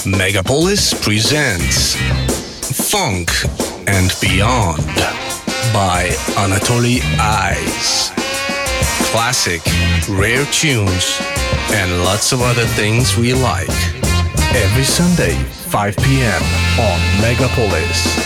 Megapolis presents Funk and Beyond by Anatoly Eyes. Classic, rare tunes, and lots of other things we like. Every Sunday, 5 p.m. on Megapolis.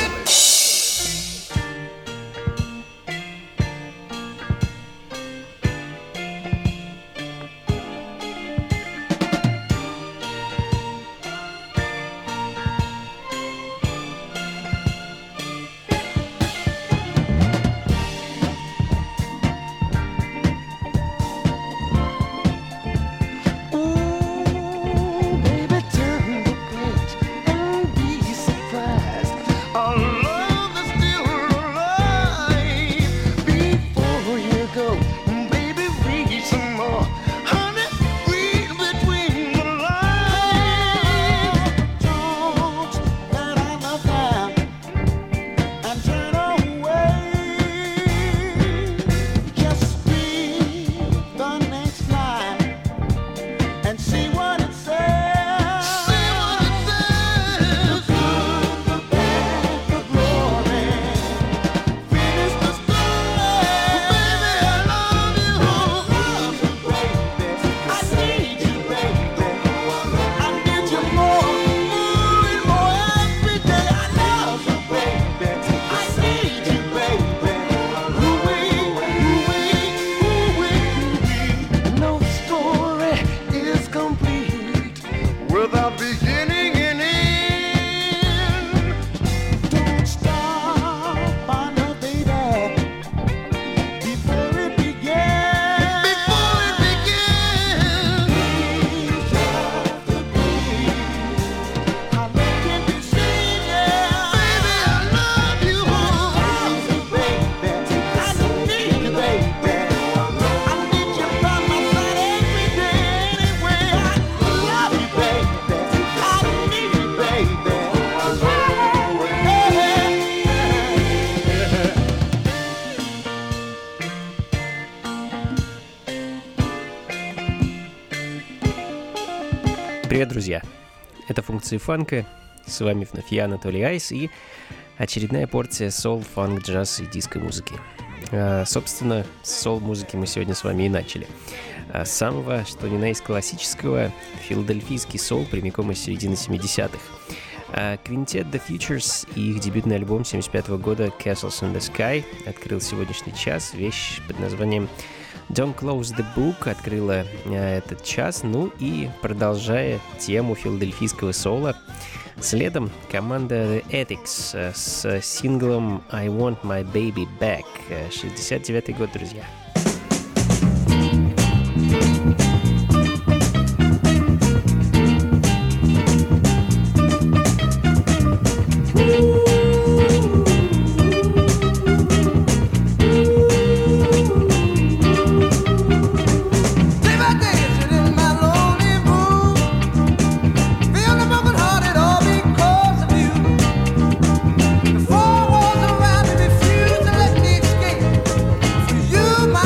Привет, друзья! Это функции фанка. С вами вновь я, Анатолий Айс, и очередная порция сол, фанк, джаз и диско-музыки. Собственно, с сол-музыки мы сегодня с вами и начали. С самого, что ни на есть классического, филадельфийский сол прямиком из середины 70-х. Квинтет The Futures и их дебютный альбом 75 года Castles in the Sky открыл сегодняшний час. Вещь под названием Don't Close the Book открыла этот час. Ну и продолжая тему филадельфийского сола, следом команда The Ethics с синглом I Want My Baby Back. 69-й год, друзья. You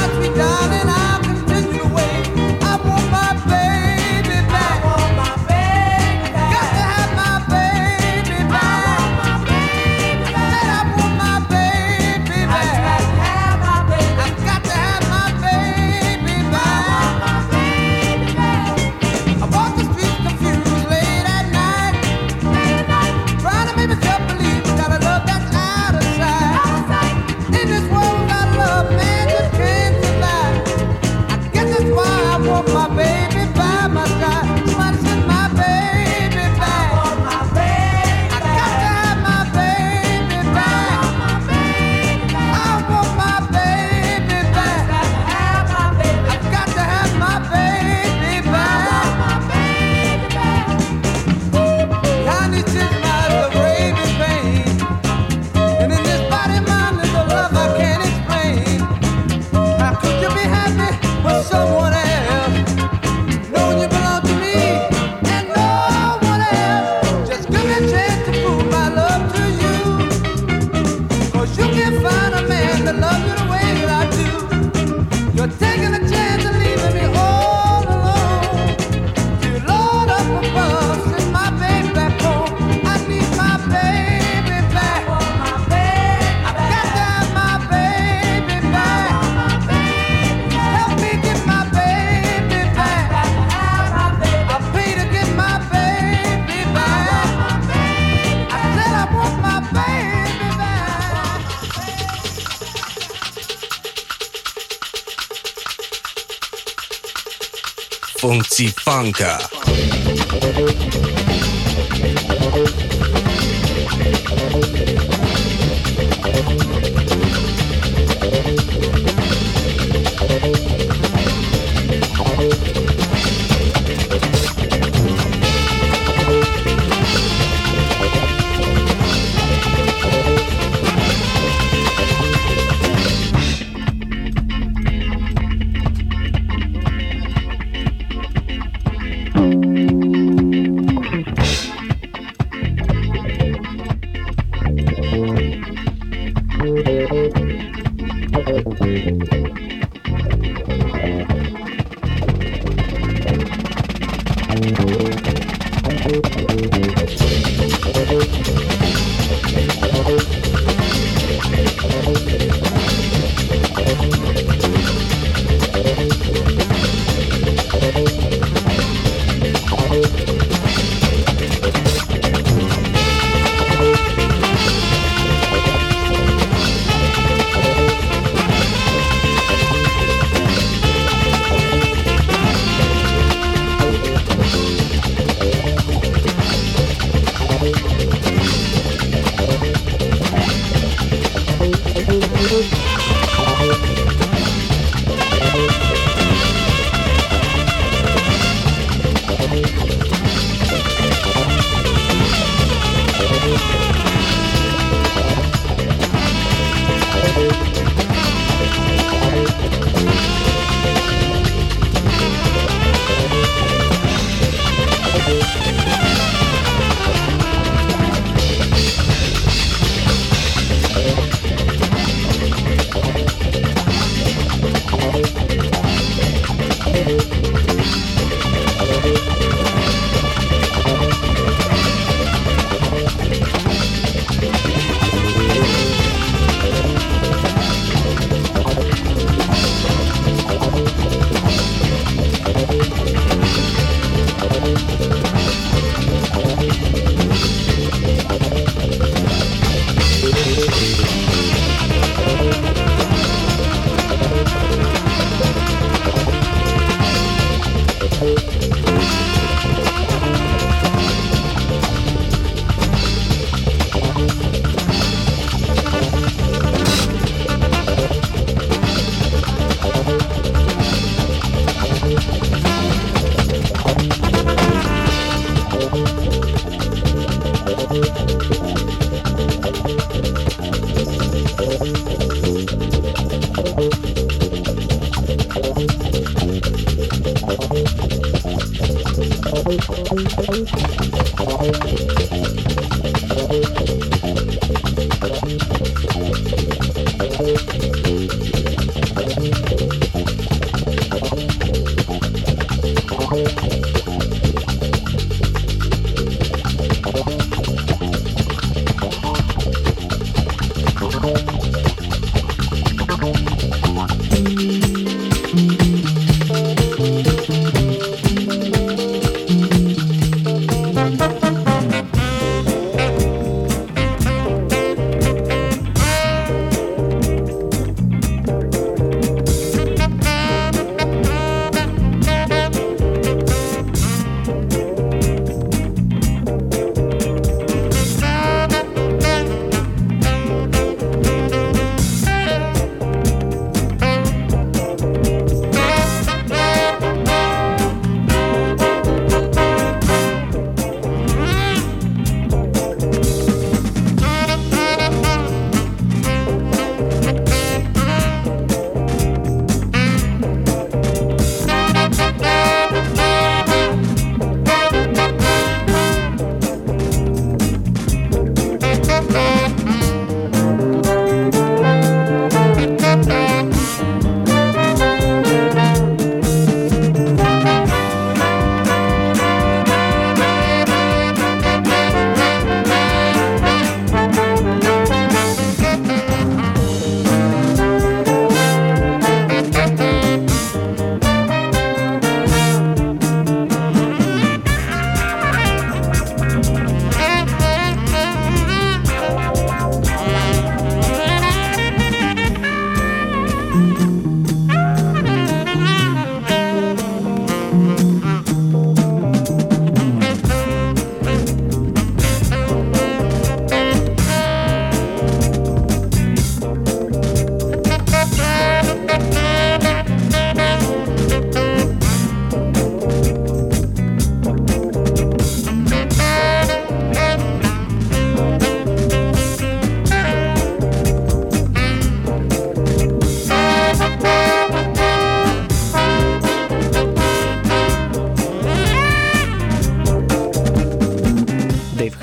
funzioni funka.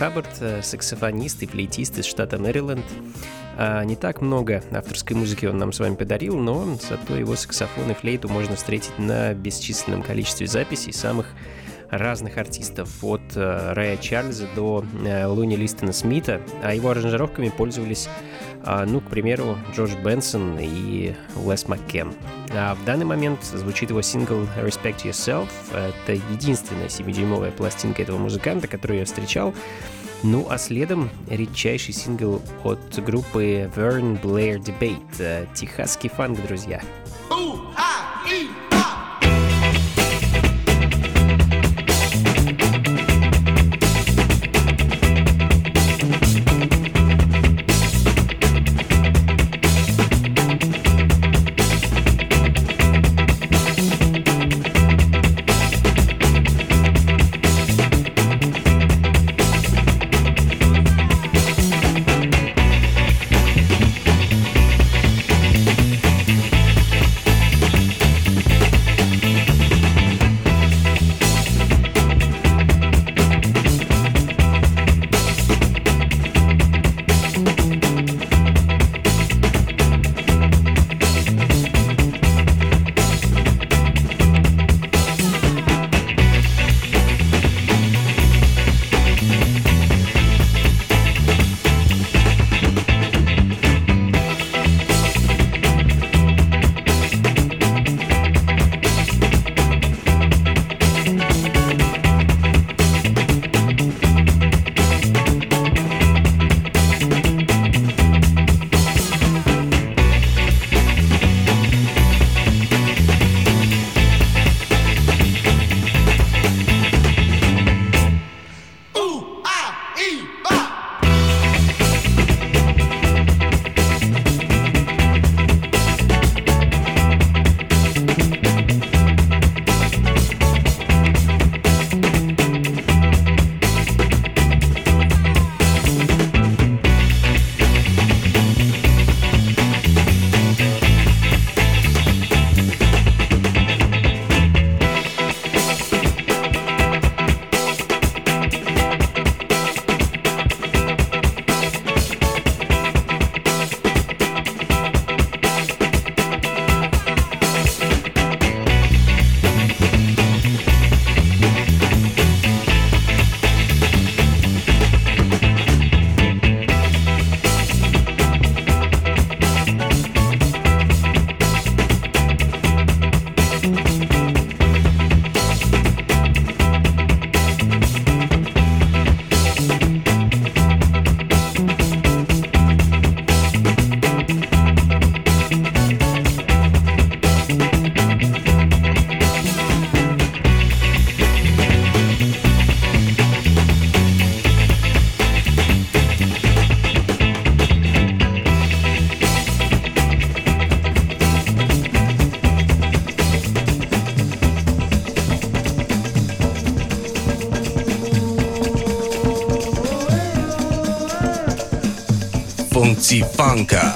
Хаббард, саксофонист и флейтист из штата Мэриленд. Не так много авторской музыки он нам с вами подарил, но зато его саксофон и флейту можно встретить на бесчисленном количестве записей самых разных артистов, от Рэя Чарльза до Луни Листона Смита, а его аранжировками пользовались, к примеру, Джордж Бенсон и Лес Маккен. А в данный момент звучит его сингл «Respect Yourself». Это единственная 7-дюймовая пластинка этого музыканта, которую я встречал. Ну а следом редчайший сингл от группы Vern Blair Debate. Техасский фанк, друзья. Funzifanka.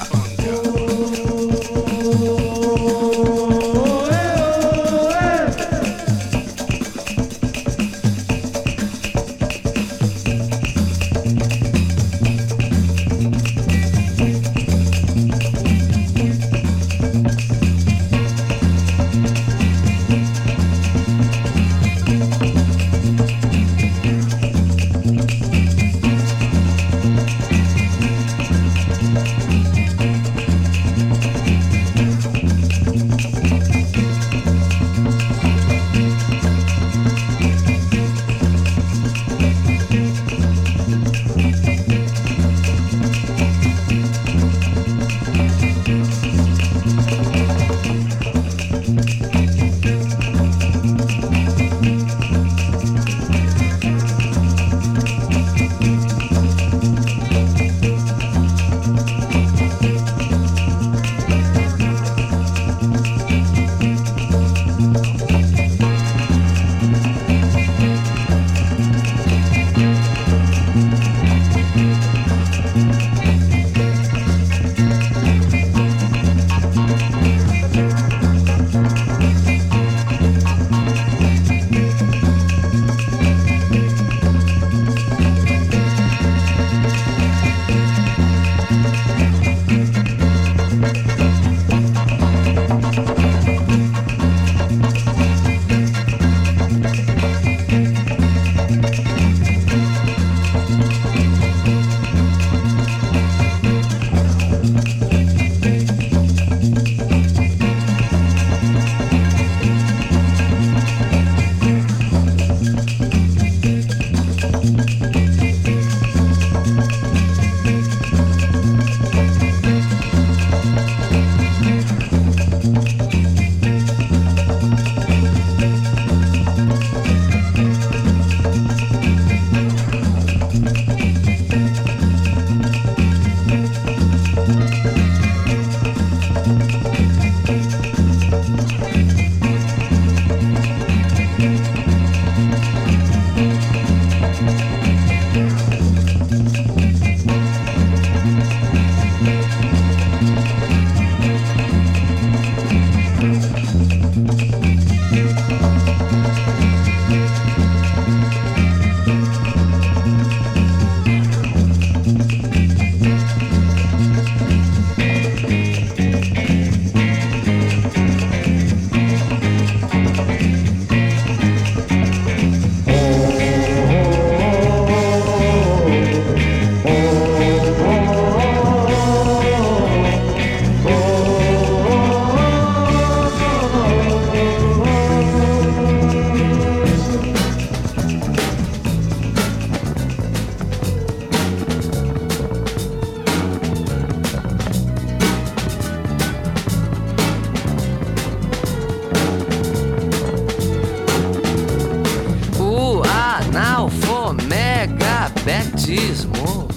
magnetismo.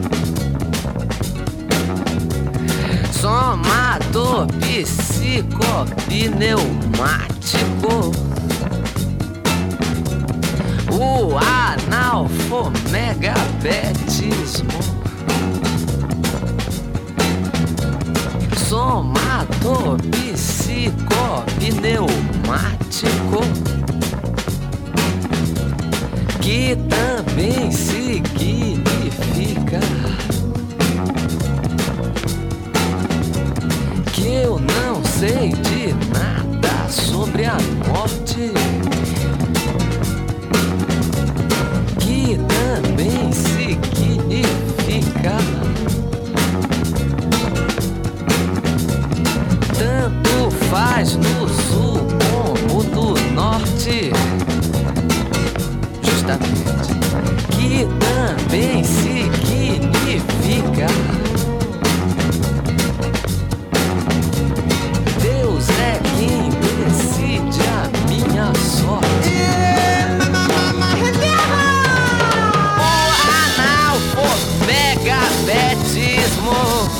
Somador psicopneumático. O analfomegabetismo. Somador psicopneumático, que também significa que eu não sei de nada sobre a morte, que também significa tanto faz no sul como no norte, justamente, que também significa Deus é quem decide a minha sorte. O analfomegabetismo,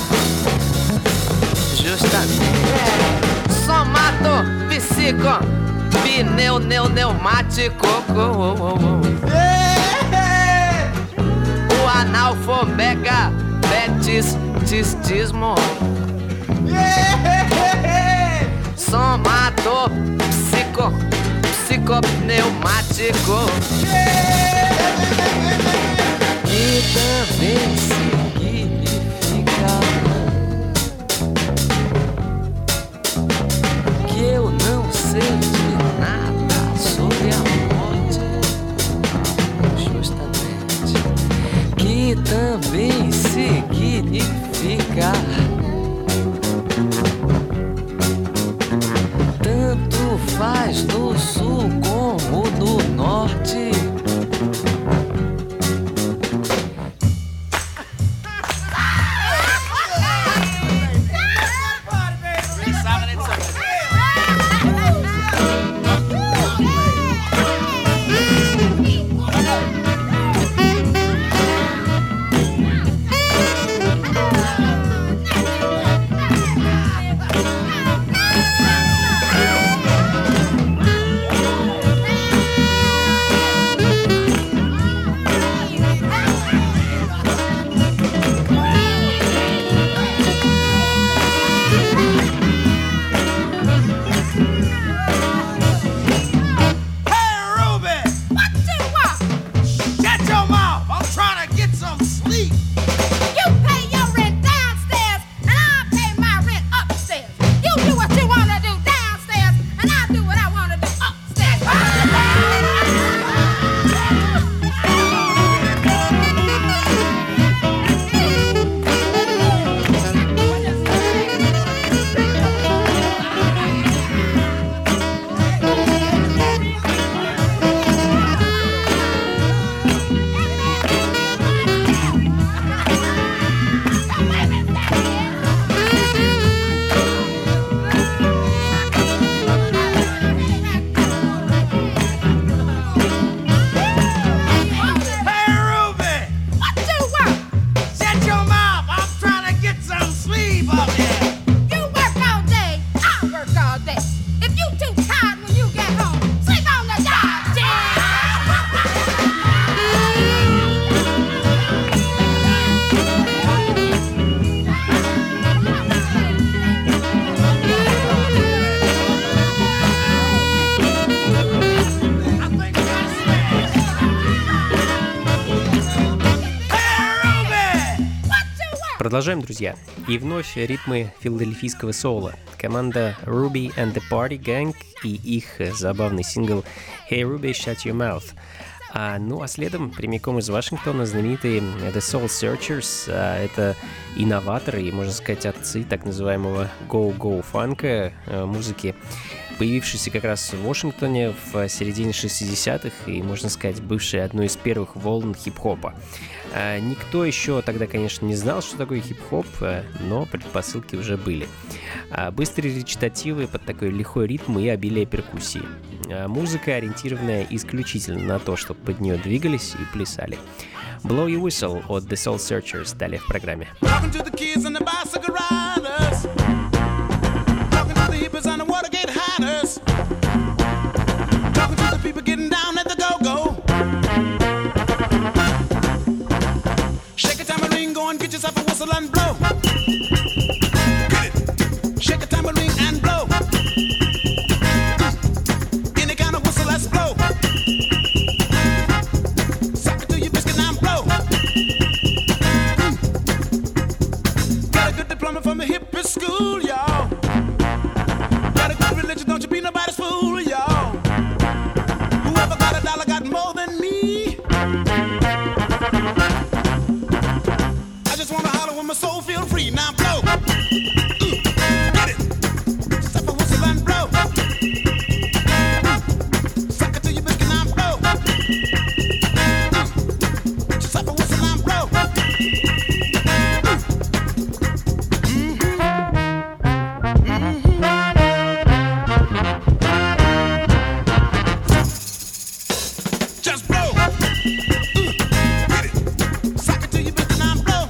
justamente, somato psico pneumático. O analfomegabetismo, somato psicopneumático, que também significa que eu não sei de nada sobre a morte, justamente, que também significa tanto faz no sul como no norte. Продолжаем, друзья. И вновь ритмы филадельфийского соула. Команда Ruby and the Party Gang и их забавный сингл Hey Ruby, Shut Your Mouth. Ну а следом прямиком из Вашингтона знаменитые The Soul Searchers. Это инноваторы и, можно сказать, отцы так называемого go-go фанка музыки. появившийся как раз в Вашингтоне в середине 60-х и, можно сказать, бывший одной из первых волн хип-хопа. Никто еще тогда, конечно, не знал, что такое хип-хоп, но предпосылки уже были. Быстрые речитативы под такой лихой ритм и обилие перкуссии. Музыка, ориентированная исключительно на то, чтобы под нее двигались и плясали. Blow Your Whistle от The Soul Searchers далее в программе. Get yourself a whistle and blow. Get it. Shake a tambourine and blow. Any kind of whistle, let's blow. Suck it to your biscuit and blow. Got a good diploma from the hippie school, y'all. Got a good religion, don't you be nobody's fool, y'all. Whoever got a dollar got more than me. My soul feel free, now blow. Get it. Step a whistle and blow. Suck it to your biscuit, now blow. Step a whistle and blow. Just blow. Get it. Suck it to your biscuit, now blow.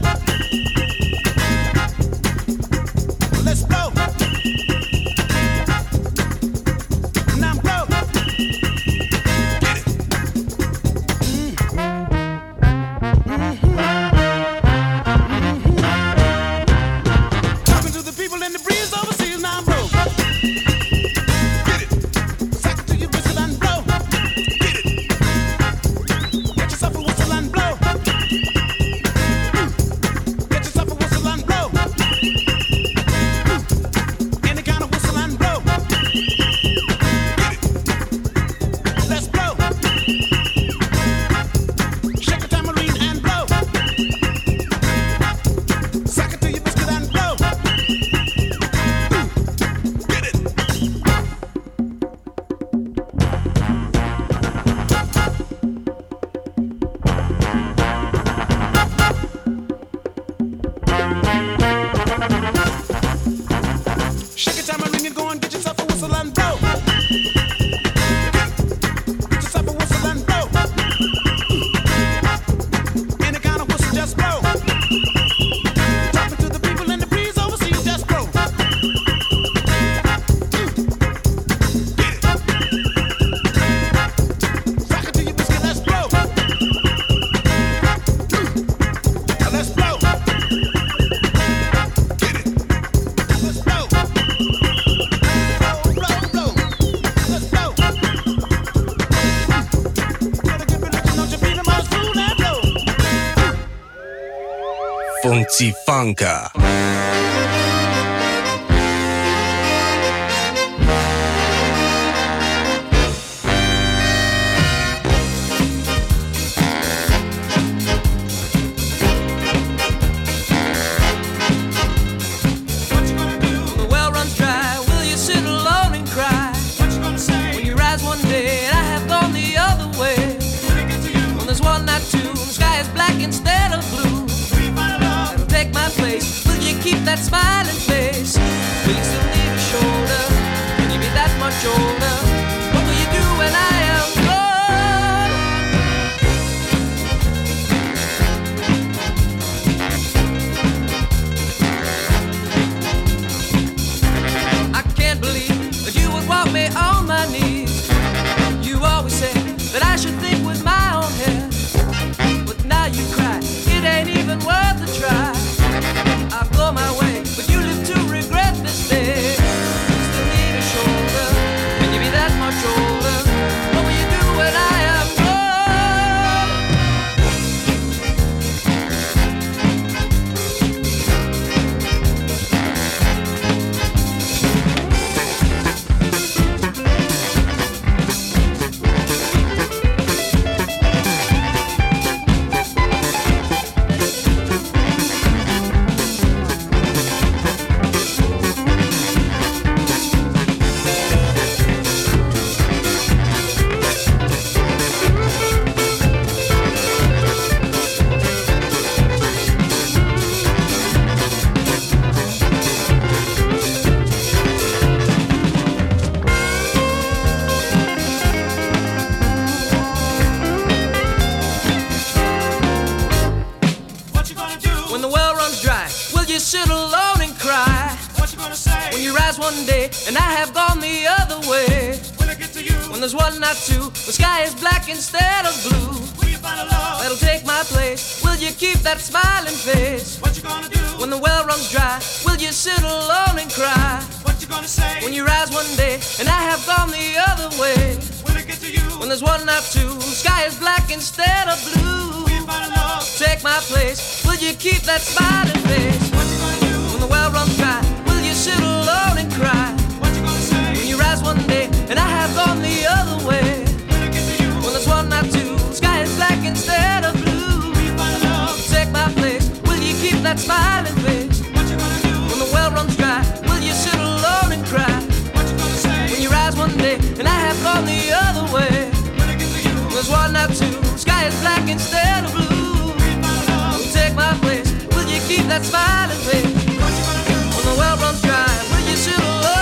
Let's blow. Now blow. Get it. Talking to the people in the breeze overseas, now blow. Get it. Suck it to your whistle and blow. Get it. Get yourself a whistle and blow. Get yourself a whistle and blow. Any kind of whistle and blow. Get it. Let's blow. Shake a tambourine and blow. Suck it to your biscuit and blow. Get it. Shake a tambourine and go and get yourself a whistle and blow. Get yourself a whistle and blow. Any kind of whistle, just blow. Talking to the people in the breeze overseas, just blow. Get it. Suck it to your biscuit, let's blow. Let's blow. Get it. Let's blow. Blow, blow, blow. Let's blow. Gotta get religion, don't you be the most fool and blow. Funky Funka. What you gonna do? The well runs dry, will you sit alone and cry? What you gonna say? When you rise one day and I have gone the other way. When it gets to you, When there's one, not two, the sky is black instead of blue. be my love. That'll take my place. Will you keep that smiling face? Will you still need a shoulder? Can you be that much older? What will you do when I am gone? I can't believe that you would walk me on my knees. You always said that I should think with my own head. But now you cry, it ain't even worth a try. I go my way, but you live to regret this day. You still need a shoulder. Can you you sit alone and cry? What you gonna say? When you rise one day and I have gone the other way. When I get to you, When there's one, not two, the sky is black instead of blue. will you find a love? That'll take my place. Will you keep that smiling face? What you gonna do? When the well runs dry, will you sit alone and cry? What you gonna say? When you rise one day and I have gone the other way. When I get to you, When there's one, not two, the sky is black instead of blue. will you find a love? Take my place. Will you keep that smiling face? What you gonna do? When the well runs dry, will you sit alone and cry? What you gonna say? When you rise one day and I have gone the other way. When I get to you, When there's one, not two, the sky is black instead of blue. will you find a love? Take my place. Will you keep that smiling face? What you gonna do? When the well runs dry, will you sit alone and cry? What you gonna say? When you rise one day and I have gone the other way. When I get to you, When there's one, not two, the sky is black instead of blue. will you find a love? Take my place. Will you keep that smiling face? What you gonna do? When the well runs dry, will you sit alone?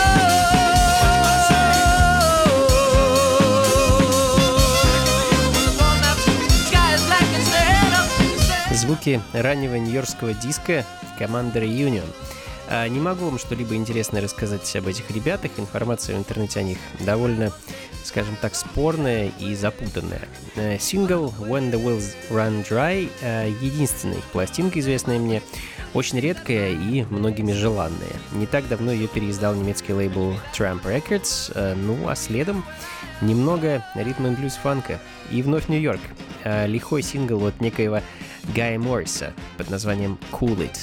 When there's one, not two, the sky is black instead of. Звуки раннего нью-йоркского диска команды Reunion. Не могу вам что-либо интересное рассказать об этих ребятах. Информация в интернете о них довольно, скажем так, спорная и запутанная. Сингл When the Wells Run Dry — единственная их пластинка, известная мне, очень редкая и многими желанная. Не так давно ее переиздал немецкий лейбл Tramp Records, ну а следом немного ритм and блюз фанка. И вновь Нью-Йорк. Лихой сингл от некоего Гая Морриса под названием Cool It.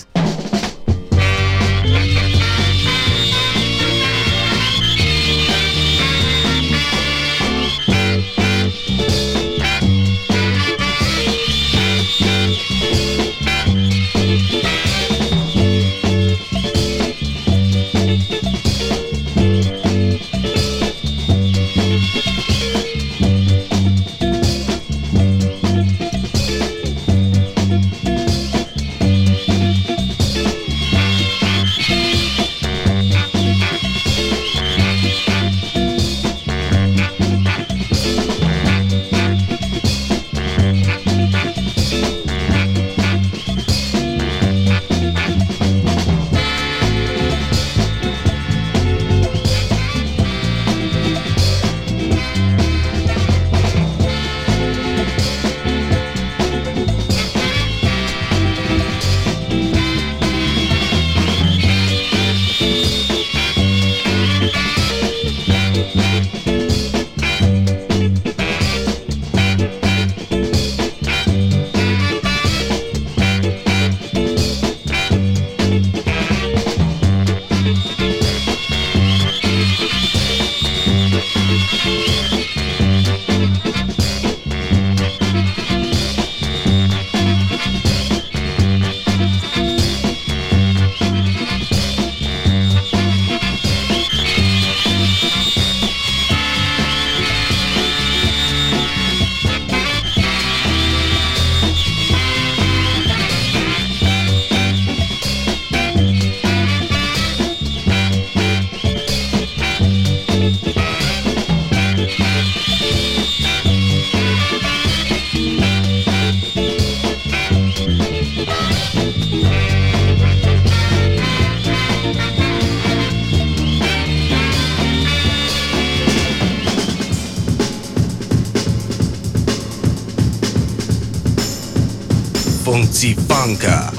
Funzifanka.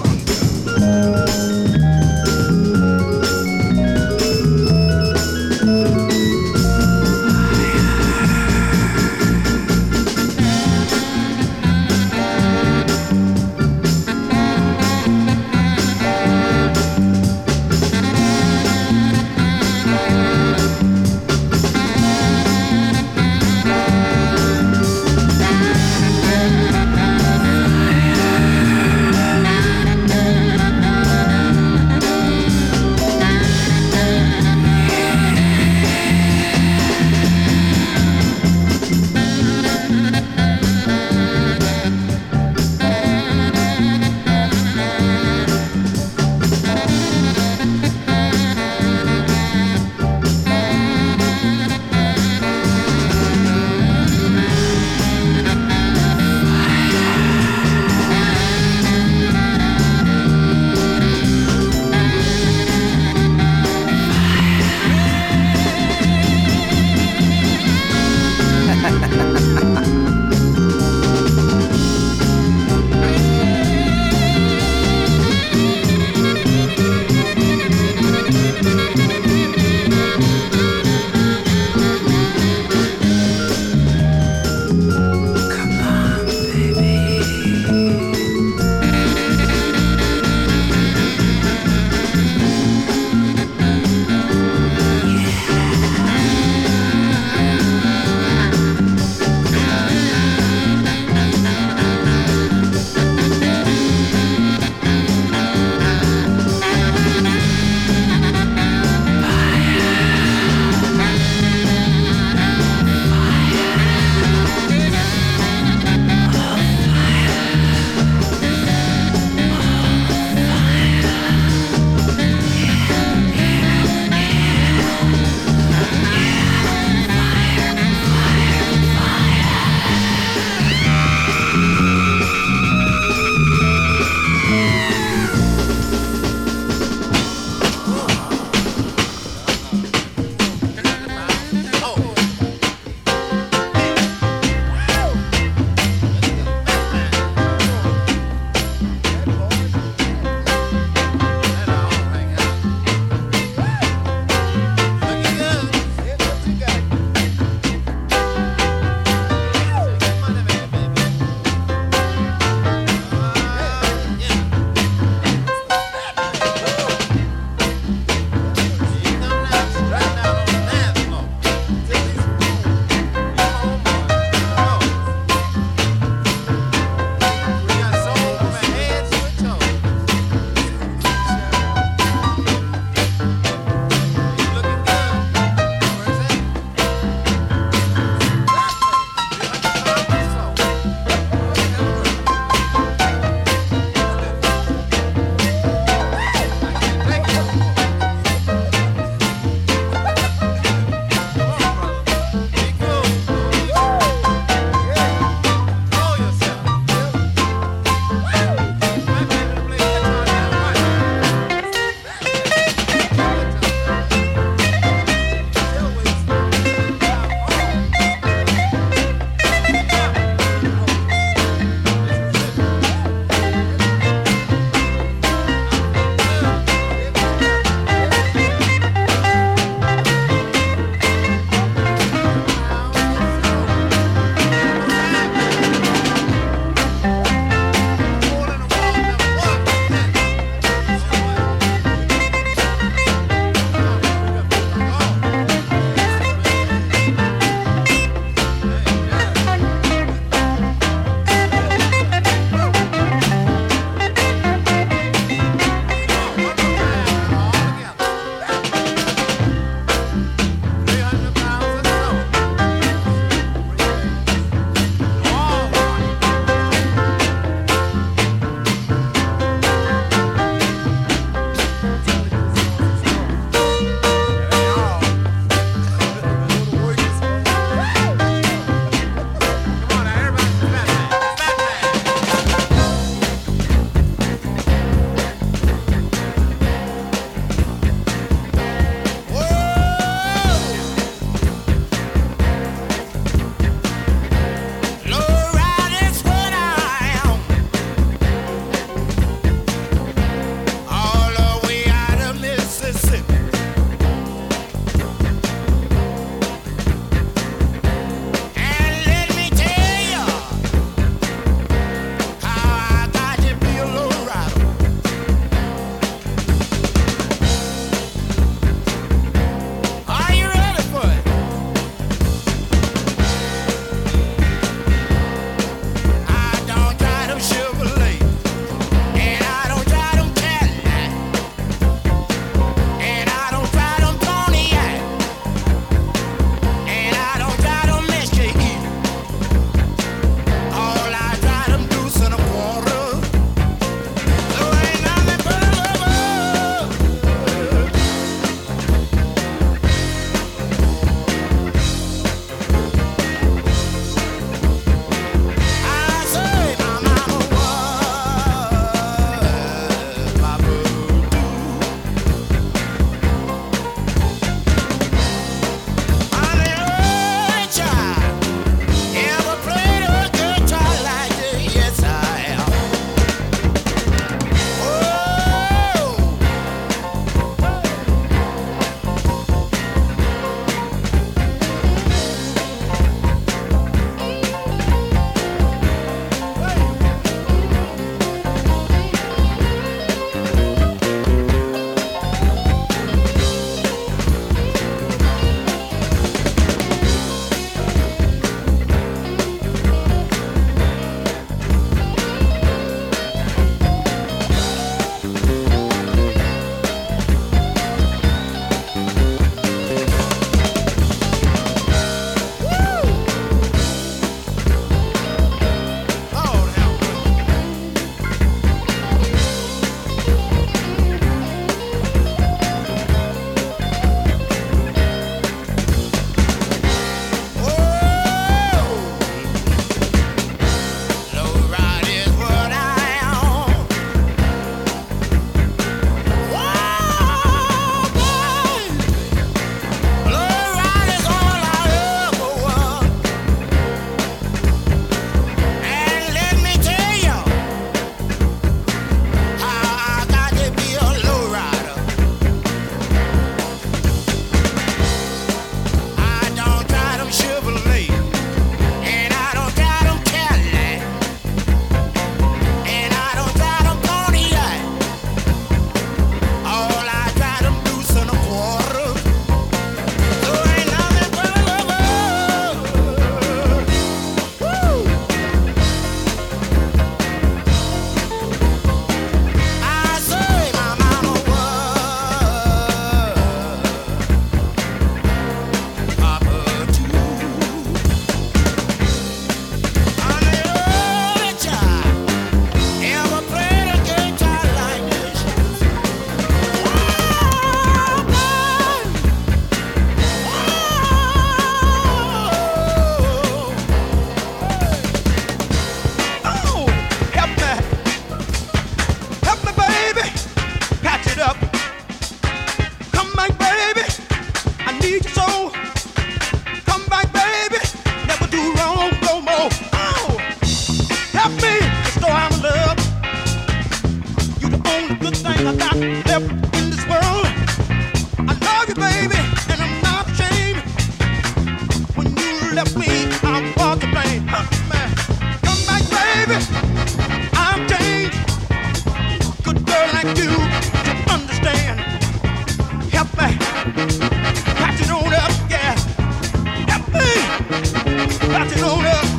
I got left in this world. I love you, baby, and I'm not ashamed. When you left me, I was to blame. Man, come back, baby. I'm changed. Good girl like you to understand. Help me, patch it on up, yeah. Help me, patch it on up.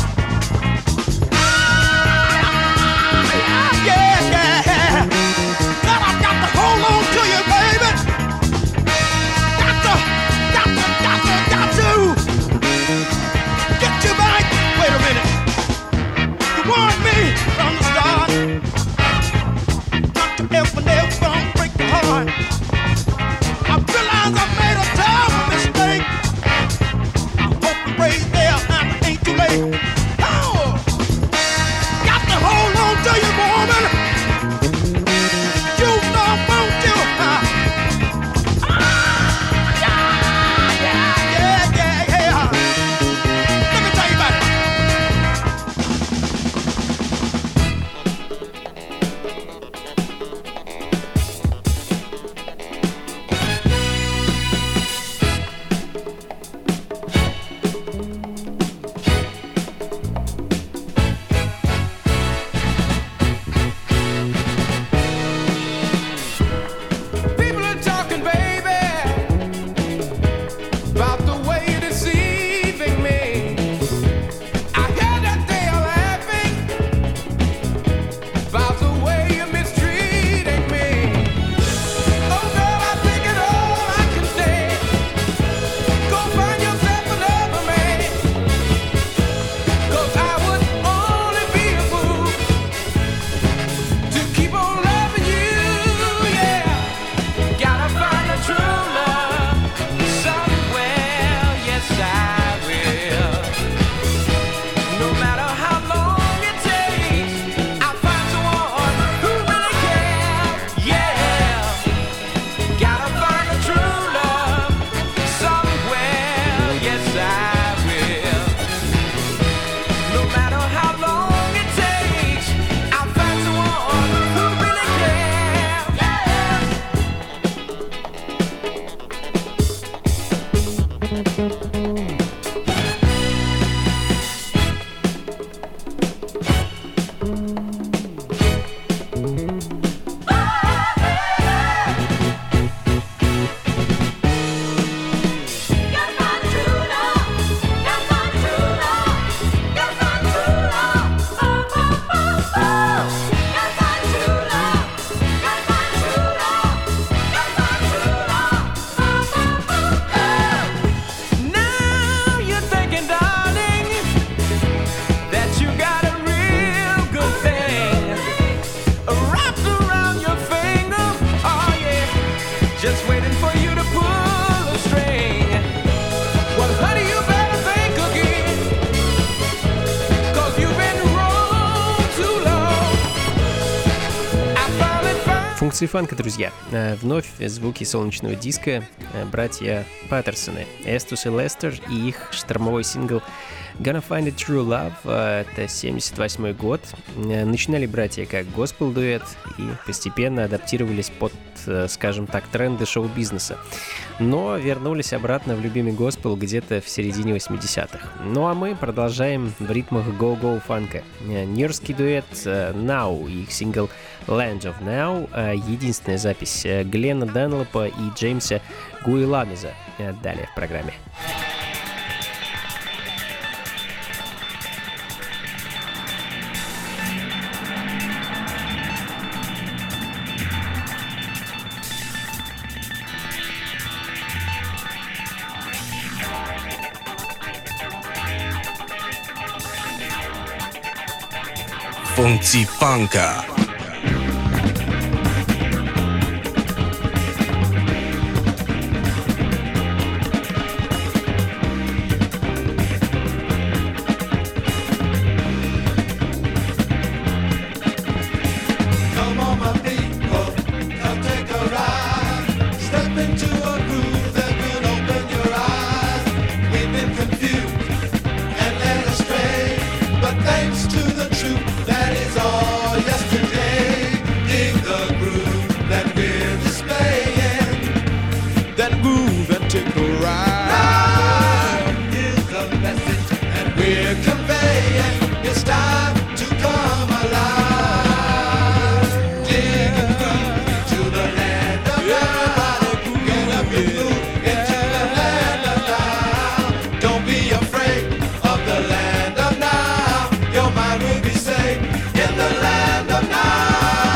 Функции фанка, друзья. Вновь звуки солнечного диска. Братья Паттерсоны, Эстус и Лестер, и их штормовой сингл Gonna Find a True Love. Это 78 год. Начинали братья как госпел-дуэт и постепенно адаптировались под, скажем так, тренды шоу-бизнеса. Но вернулись обратно в любимый госпел где-то в середине 80-х. Ну а мы продолжаем в ритмах go-go фанка. Нью-йоркский дуэт Now и их сингл Land of Now. Единственная запись Гленна Данлопа и Джеймса Гуиламиза. Далее в программе. Funky Funka. Thanks to the truth that is all yesterday. in the land of now.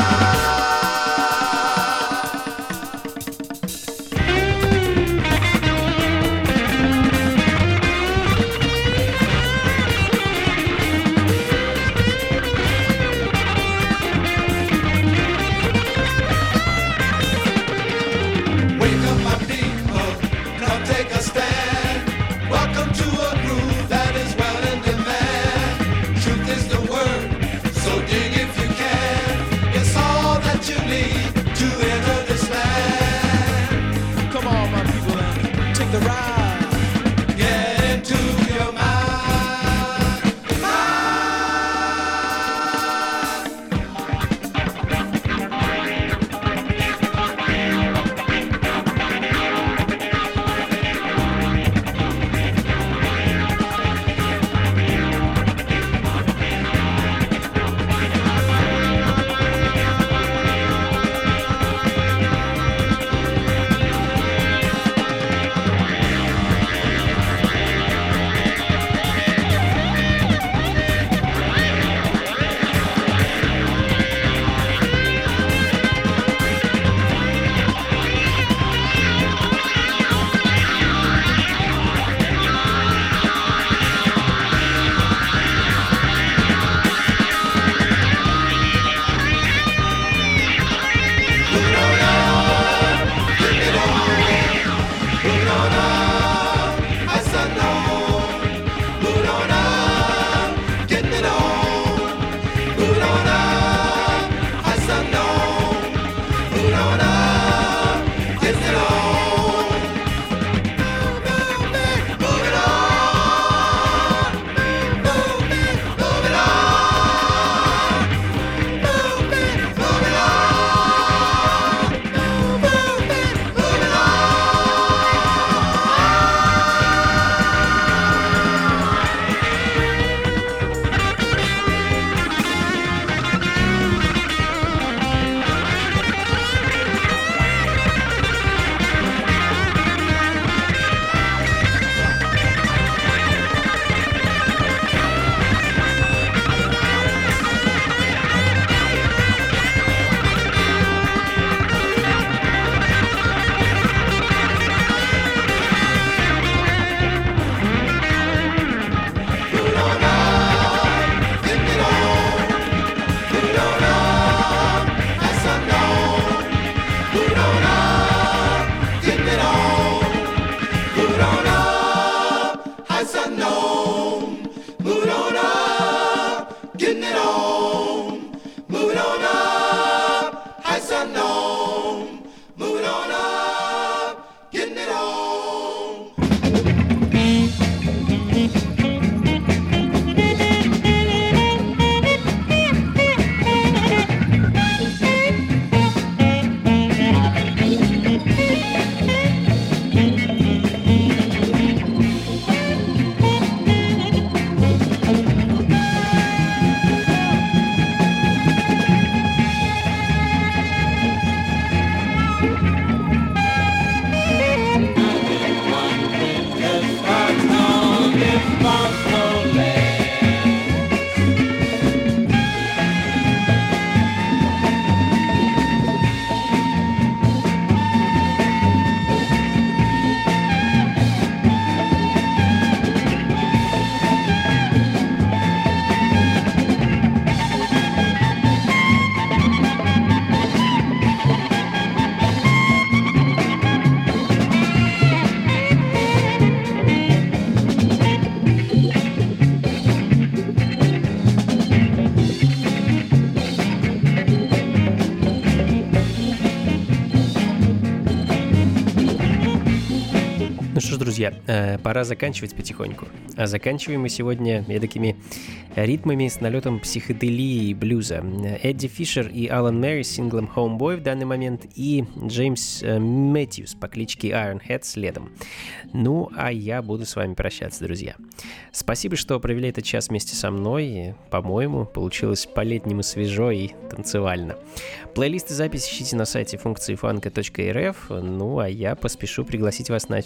Друзья, пора заканчивать потихоньку. А заканчиваем мы сегодня эдакими ритмами с налетом психоделии и блюза. Эдди Фишер и Алан Мэри с синглом Homeboy в данный момент и Джеймс Мэтьюс по кличке Ironhead следом. Ну, а я буду с вами прощаться, друзья. Спасибо, что провели этот час вместе со мной. По-моему, получилось по-летнему свежо и танцевально. Плейлисты записи ищите на сайте функции фанка.рф. Ну, а я поспешу пригласить вас на очередную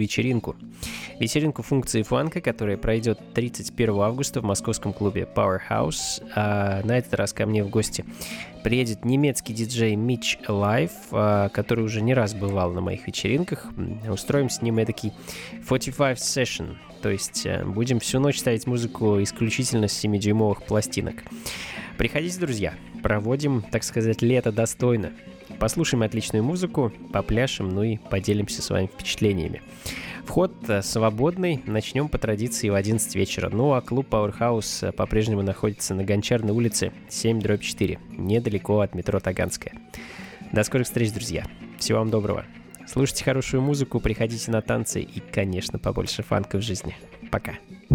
вечеринку. Вечеринку функции фанка, которая пройдет 31 августа в московском клубе Powerhouse. На этот раз ко мне в гости приедет немецкий диджей Mitch Alive, который уже не раз бывал на моих вечеринках. Устроим с ним эдакий 45 session, то есть будем всю ночь ставить музыку исключительно с 7-дюймовых пластинок. Приходите, друзья, проводим, так сказать, лето достойно. Послушаем отличную музыку, попляшем, ну и поделимся с вами впечатлениями. Вход свободный, начнем по традиции в 11 вечера. Ну а клуб Powerhouse по-прежнему находится на Гончарной улице 7/4, недалеко от метро Таганская. До скорых встреч, друзья. Всего вам доброго. Слушайте хорошую музыку, приходите на танцы и, конечно, побольше фанка в жизни. Пока.